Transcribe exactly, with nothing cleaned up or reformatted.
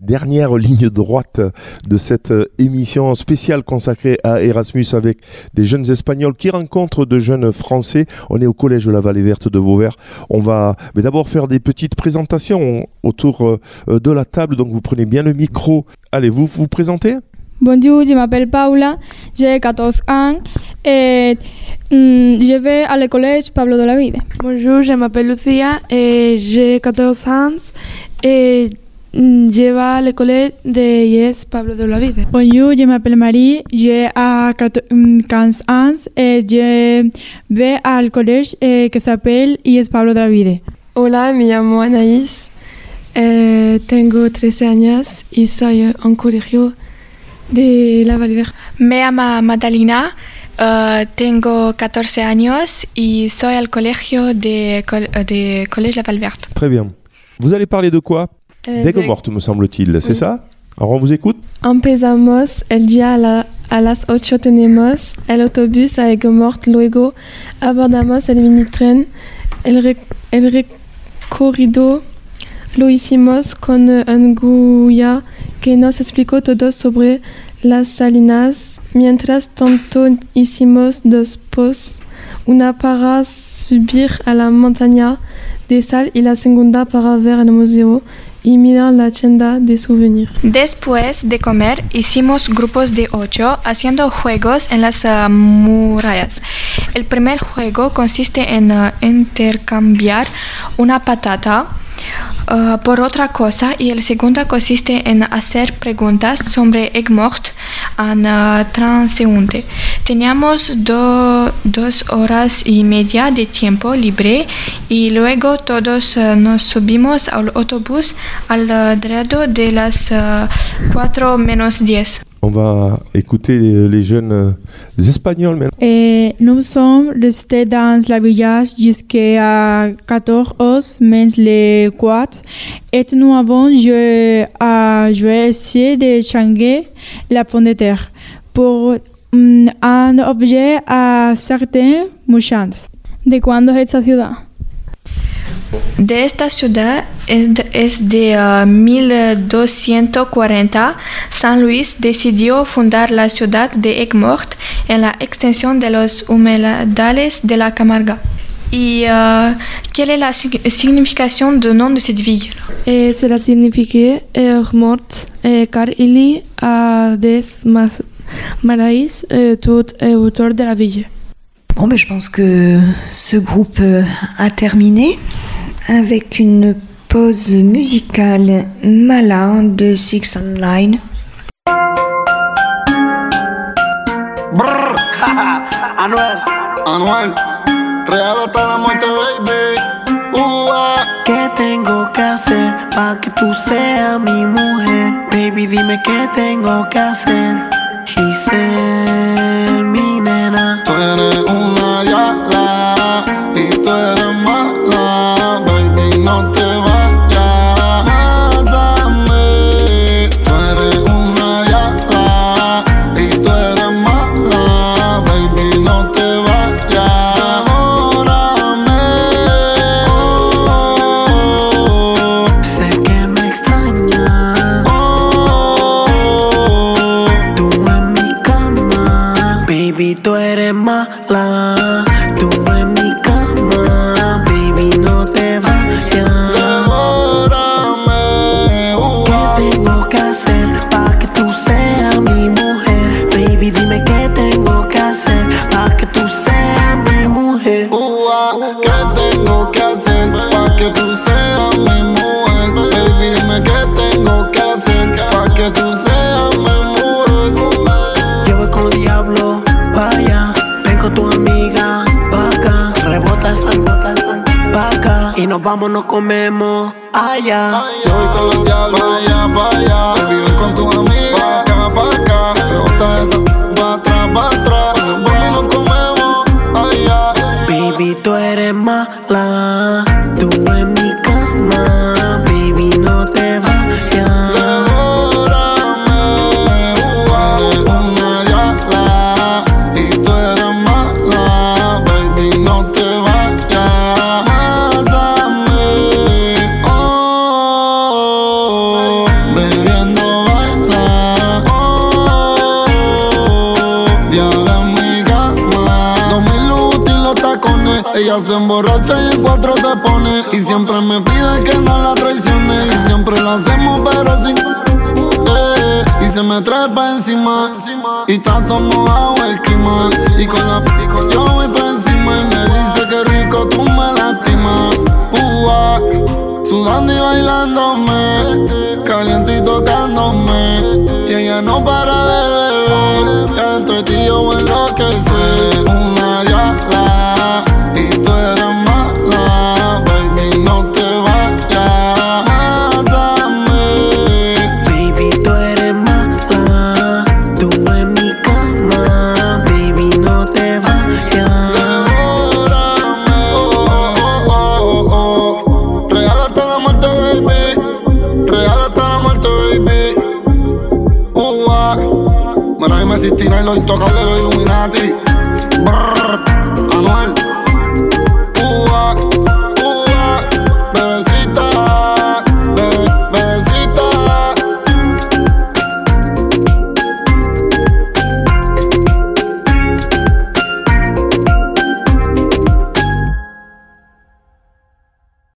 dernière ligne droite de cette émission spéciale consacrée à Erasmus avec des jeunes Espagnols qui rencontrent de jeunes Français. On est au collège de la Vallée Verte de Vauvert. On va mais d'abord faire des petites présentations autour de la table. Donc vous prenez bien le micro. Allez, vous vous présentez? Bonjour, je m'appelle Paula, j'ai quatorze ans et mm, je vais à le collège Pablo de la Vida. Bonjour, je m'appelle Lucia et j'ai quatorze ans et je vais à l'école de Yes Pablo de la Vida. Bonjour, je m'appelle Marie, j'ai quinze ans et je vais al collège que s'appelle Yes Pablo de la Vida. Hola, me llamo Anaís, eh, tengo trece años y soy un colegio de la Vallée Verte. Me llamo Madalina, uh, tengo catorce años y soy al colegio de, de Collège La Vallée Verte. Très bien. Vous allez parler de quoi? Euh, D'Aigues-Mortes, me semble-t-il, c'est oui. ça? Alors on vous écoute. Empezamos el día a, la, a las ocho, tenemos el autobús a Aigues-Mortes, luego abordamos el minitren, el, re, el recorrido lo hicimos con un guía que nos explicó todo sobre las salinas. Mientras tanto hicimos dos posts, una para subir a la montaña de sal y la segunda para ver el museo y mirar la tienda de souvenirs. Después de comer, hicimos grupos de ocho haciendo juegos en las uh, murallas. El primer juego consiste en uh, intercambiar una patata Uh, por otra cosa y el segundo consiste en hacer preguntas sobre Aigues-Mortes en uh, transeúnte. Teníamos do, dos horas y media de tiempo libre y luego todos uh, nos subimos al autobús alrededor de las uh, cuatro menos diez. On va écouter les, les jeunes euh, Espagnols maintenant. Et nous sommes restés dans le village jusqu'à quatorze heures, mais les quatre. Et nous avons joué à jouer essayer de changer la pomme de terre pour um, un objet à certains mouchants. ¿De cuándo es esta ciudad? De esta ciudad es de, es de uh, mil doscientos cuarenta. San Luis decidió fundar la ciudad de Aigues-Mortes en la extensión de los humedales de la Camarga. ¿Y uh, quelle est la signification du nom de cette ville? Eh, cela signifie Aigues-Mortes eh, car il y a des marais eh, tout autour de la ville. Bon, ben, je pense que ce groupe a terminé avec une pause musicale Mala de Six and Line. Brrr, Anuel, Anuel, real hasta la muerte, baby. Uh-ah. ¿Qué tengo que hacer para que tú seas mi mujer? Baby, dime qué tengo que hacer. Giselle, mi nena. Tú eres una yala y tú eres mala, baby, no te vayas, mátame. Tú eres una yala y tú eres mala, baby, no te vayas, devórame. Oh, sé que me extrañas. Oh, tú en mi cama, baby, tú eres mala. Tú en mi cama, baby, no te vayas. devórame. Uh, ¿Qué tengo que hacer para que tú seas mi mujer? Baby, dime qué tengo que hacer para que tú seas mi mujer. uh, ¿Qué tengo que hacer para que tú seas mi mujer? Baby, dime qué tengo que hacer para que tú seas mi mujer. Yo voy con diablo, vaya, ven con tu amiga, pa' acá, rebota esa, pa' acá, y nos vamos, nos comemos allá. Yo voy con los diablos, vaya, vaya. Baby, ven con tu amiga, pa' acá, pa' acá. Rebota esa, pa' atrás, pa' atrás. Nos vamos y nos comemos allá. Baby, tú eres mala, tú en mi cama, baby, no te vayas. Devórame. Tú eres una yala y tú eres mala, baby, no te vayas, mátame. Oh, Ella se emborracha y en cuatro se pone. Y siempre me pide que no la traicione. Y siempre la hacemos pero sin eh, y se me trepa encima. Y está todo mojado el clima. Y con la p yo voy pa' encima. Y me dice que rico tú me lastimas. uh, ah, Sudando y bailándome, caliente y tocándome. Y ella no para de beber. Ya entre ti yo voy a enloquecer. Una diabla y tú eres mala. Baby, no te vayas, mátame. Baby, tú eres mala. Tú en mi cama. Baby, no te vayas. Devórame, oh, oh, oh, oh. Real hasta la muerte, baby. Real hasta la muerte, baby. Uh, ah. Mara y Messi, Tina y los intocables, los Illuminati.